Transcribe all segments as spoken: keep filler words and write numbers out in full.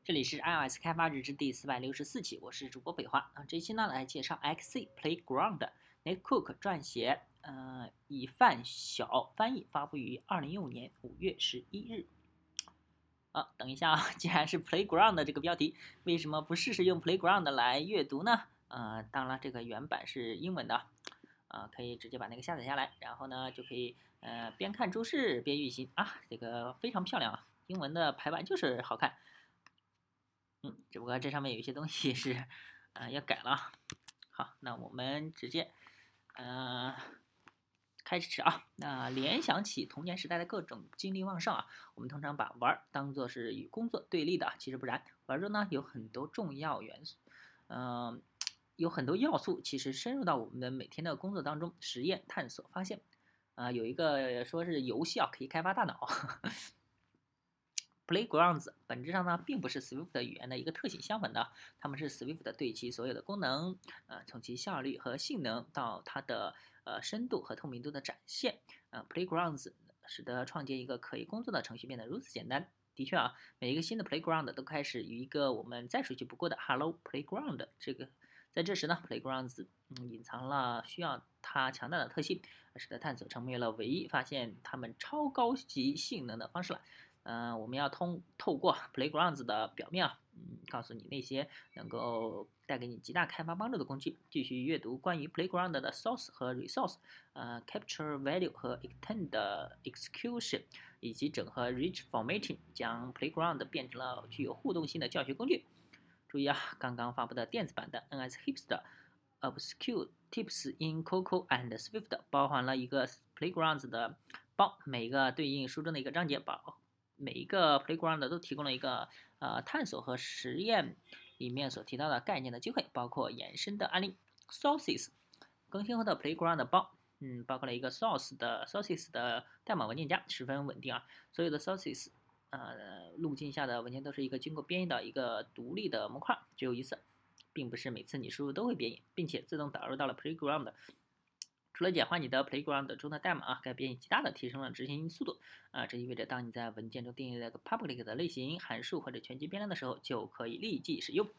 这里是 iOS 开发日志第四百六十四期，我是主播北华啊。这期呢来介绍 Xc Playground，Nate Cook 撰写，呃，以范晓翻译，发布于二零一五年五月十一日。啊，等一下啊，既然是 Playground 这个标题，为什么不试试用 Playground 来阅读呢？呃，当然这个原版是英文的，啊，可以直接把那个下载下来，然后呢就可以呃边看注释边运行啊，这个非常漂亮啊，英文的排版就是好看。嗯，只不过这上面有一些东西是，呃，要改了。好，那我们直接，呃，开始啊。那联想起童年时代的各种精力旺盛啊，我们通常把玩当做是与工作对立的，其实不然，玩中呢有很多重要元素，嗯、呃，有很多要素其实深入到我们的每天的工作当中，实验、探索、发现。啊、呃，有一个说是游戏啊可以开发大脑。Playgrounds 本质上呢，并不是 Swift 语言的一个特性，相反的，它们是 Swift 对其所有的功能，呃，从其效率和性能到它的呃深度和透明度的展现，呃，Playgrounds 使得创建一个可以工作的程序变得如此简单。的确啊，每一个新的 Playground 都开始于一个我们再熟悉不过的 Hello Playground。这个在这时呢，Playgrounds 嗯隐藏了需要它强大的特性，使得探索成为了唯一发现它们超高级性能的方式了。嗯、呃，我们要通透过 Playgrounds 的表面啊，嗯，告诉你那些能够带给你极大开发帮助的工具。继续阅读关于 Playground 的 source 和 resource，呃，capture value 和 extend execution，以及整合 rich formatting，将 Playground 变成了具有互动性的教学工具。注意啊，刚刚发布的电子版的 N S Hipster Obscure Tips in Cocoa and Swift 包含了一个 Playgrounds 的包，每个对应书中的一个章节包。每一个 Playground 都提供了一个呃探索和实验里面所提到的概念的机会，包括延伸的案例。Sources 更新后的 Playground 包，嗯，包括了一个 Source 的 Sources 的代码文件夹，十分稳定啊。所有的 Sources 呃路径下的文件都是一个经过编译的一个独立的模块，只有一次，并不是每次你输入都会编译，并且自动导入到了 Playground。除了简化你的 Playground 中的代码啊，该编译极大的提升了执行速度啊，这意味着当你在文件中定义了个 public 的类型、函数或者全局变量的时候，就可以立即使用。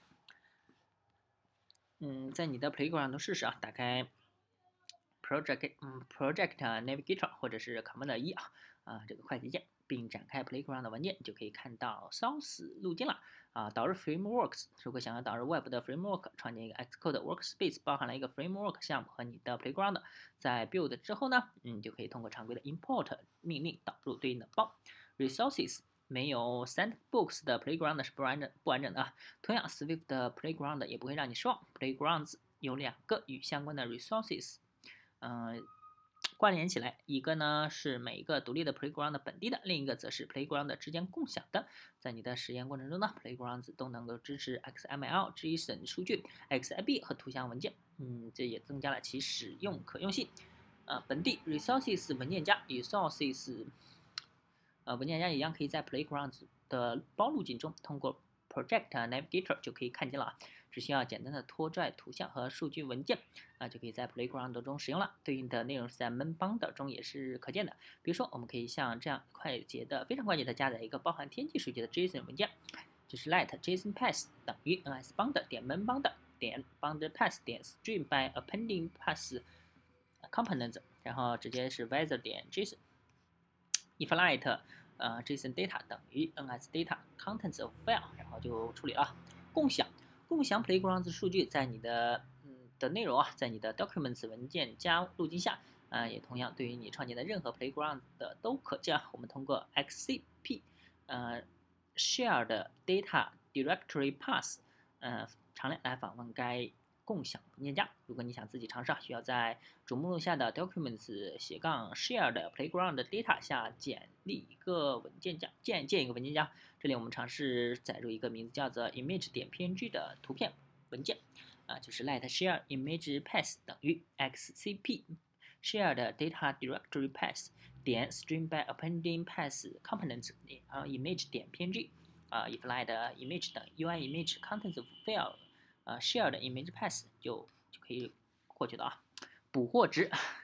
嗯，在你的 Playground 中试试啊，打开 Project 嗯 Project Navigator 或者是 Command 一啊啊这个快捷键，并展开 Playground 文件，就可以看到 Source 路径了啊。导入 Frameworks，如果想要导入 Web 的 Framework，创建一个 Xcode Workspace，包含了一个 Framework 项目和你的 Playground。在 Build 之后呢，嗯，就可以通过常规的 Import 命令导入对应的包。Resources 没有 Sandbox 的 Playground 是不完整不完整的啊。同样 ，Swift 的 Playground 也不会让你失望。Playgrounds 有两个与相关的 resources。嗯、呃，关联起来，一个呢是每一个独立的 Playground 本地的，另一个则是 Playground 之间共享的。在你的实验过程中呢，Playgrounds 都能够支持 X M L、JSON 数据、X I B 和图像文件，嗯，这也增加了其使用可用性。呃，本地 Resources 文件夹与 Sources 呃文件夹一样，可以在 Playgrounds 的包路径中通过 Project Navigator 就可以看见了。只需要简单的拖拽图像和数据文件，啊，就可以在 Playground 中使用了。对应的内容是在 Main Bundle 中也是可见的。比如说，我们可以像这样快捷的、非常快捷的加载一个包含天气数据的 JSON 文件，就是 let JSON pass 等于 ns bundle 点 main bundle 点 bundle pass 点 stream by appending pass components， 然后直接是 weather 点 JSON if let 呃 JSON data 等于 ns data contents of file， 然后就处理了。共享。共享 Playgrounds 数据在你的嗯的内容啊，在你的 Documents 文件夹路径下，啊、呃，也同样对于你创建的任何 Playground 的都可见。我们通过 X C P， 呃 Shared Data Directory Path， 呃常量来访问该共享文件夹。如果你想自己尝试，需要在主目录下的 Documents 斜杠 Shared Playground Data 下建立一个文件夹，建建一个文件夹。这里我们尝试载入一个名字叫做 image 点 png 的图片文件，啊，就是 let share image path 等于 xcp shared data directory path 点 stream by appending path components 啊 image 点 png 啊 if let image 等于 ui image contents of file 啊 shared image path 就就可以获取到啊。捕获值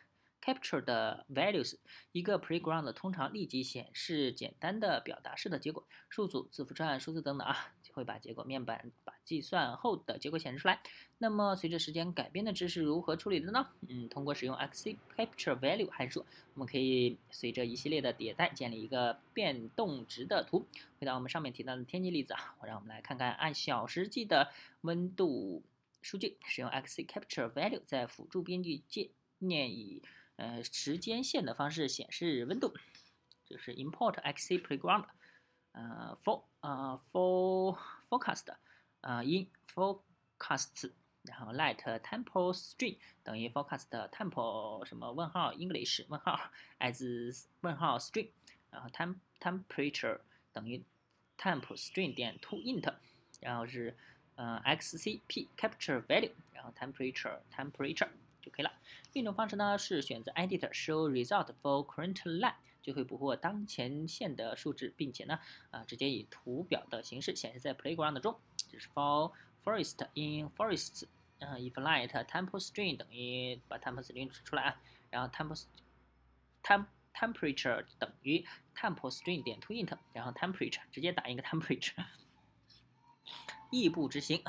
captured values。一个 playground 通常立即显示简单的表达式的结果，数组、字符串、数字等等啊，会把结果面板把计算后的结果显示出来。那么随着时间改变的值是如何处理的呢？嗯，通过使用 xc capture value 函数，我们可以随着一系列的迭代建立一个变动值的图。回到我们上面提到的天气例子啊，我让我们来看看按小时计的温度数据，使用 xc capture value 在辅助编辑界面以呃时间线的方式显示温度，就是 import xc playground， 呃 for 呃 for forecast， 呃 in forecasts， 然后 let tempo string 等于 forecast tempo 什么问号 English 问号 as 问号 string， 然后 temp temperature 等于 temp string 点 to int， 然后是呃 xcp capture value， 然后 temperature temperature 就可以了。另一种方式呢是选择 edit show result for current line， 就会捕获当前线的数值，并且呢啊、呃、直接以图表的形式显示在 playground 中。这是 for forest in forests， 呃 if let tempo string 等于把 tempo string 出来啊，然后 tempo temp temperature 等于 tempo string 点 to int， 然后 temperature 直接打一个 temperature， 异步执行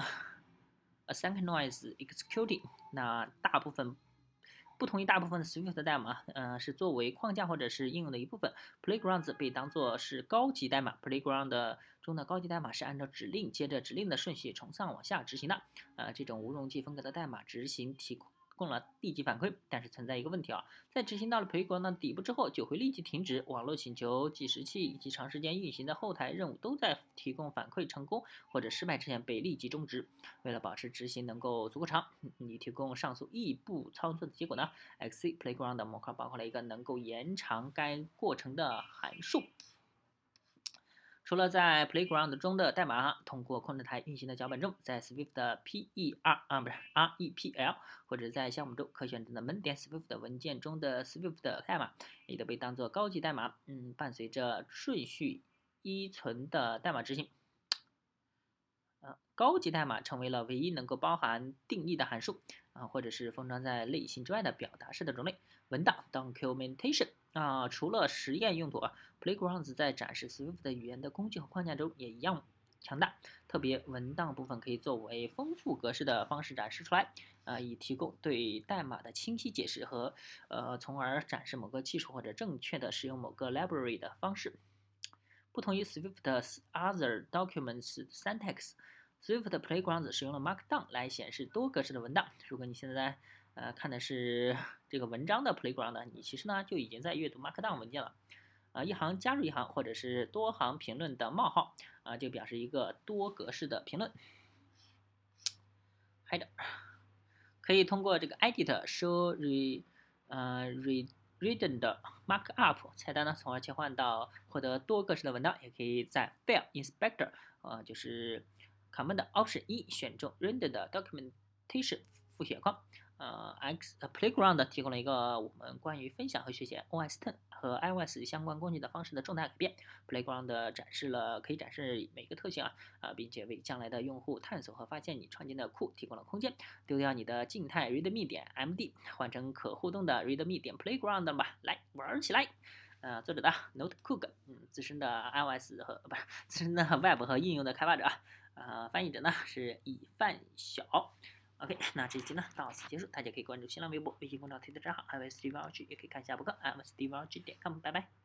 asynchronous executing。 那大部分不同于大部分的 Swift 的代码，呃，是作为框架或者是应用的一部分。Playgrounds 被当作是高级代码 ，Playground 中的高级代码是按照指令接着指令的顺序从上往下执行的。呃，这种无容器风格的代码执行提供了立即反馈，但是存在一个问题啊，在执行到了 Playground 底部之后，就会立即停止。网络请求、计时器以及长时间运行的后台任务都在提供反馈成功或者失败之前被立即终止。为了保持执行能够足够长，你提供上述异步操作的结果呢 ？xc Playground 模块包括了一个能够延长该过程的函数。除了在 Playground 中的代码通过控制台运行的脚本中，在 Swift 的 P E R 啊不是 R E P L 或者在项目中可选择的 main 点 Swift 文件中的 Swift 代码，也都被当作高级代码，嗯，伴随着顺序依存的代码执行。呃，高级代码成为了唯一能够包含定义的函数啊，或者是封装在类型之外的表达式的种类。文档 documentation 啊，除了实验用途啊 ，Playgrounds 在展示 Swift 语言的工具和框架中也一样强大。特别文档部分可以作为丰富格式的方式展示出来，啊，以提供对代码的清晰解释和呃，从而展示某个技术或者正确的使用某个 library 的方式。不同于 Swift other documents syntax。Swift Playgrounds 使用了 Markdown 来显示多格式的文档。如果你现在呃看的是这个文章的 Playground， 你其实呢就已经在阅读 Markdown 文件了。啊、呃，一行加入一行或者是多行评论的冒号啊、呃，就表示一个多格式的评论。Header 可以通过这个 Edit show re 呃 re redundant markup 菜单呢，从而切换到获得多格式的文档。也可以在 File Inspector 呃就是 Command Option 一选中 Render 的 Documentation 复写框。呃 ，X Playground 提供了一个我们关于分享和学习 O S X 和 iOS 相关工具的方式的重大改变。Playground 展示了可以展示每个特性啊啊、呃，并且为将来的用户探索和发现你创建的库提供了空间。丢掉你的静态 readme 点 md， 换成可互动的 readme 点 playground 吧，来玩起来。呃，作者的 Note Cook， 嗯，资深的 iOS 和不是资深的 Web 和应用的开发者，呃，翻译者呢是以范晓。OK， 那这一期呢到此结束，大家可以关注新浪微博、微信公众号、推特账号 iOS Steve R G， 也可以看一下博客 iOS Steve R G 点 com， 拜拜。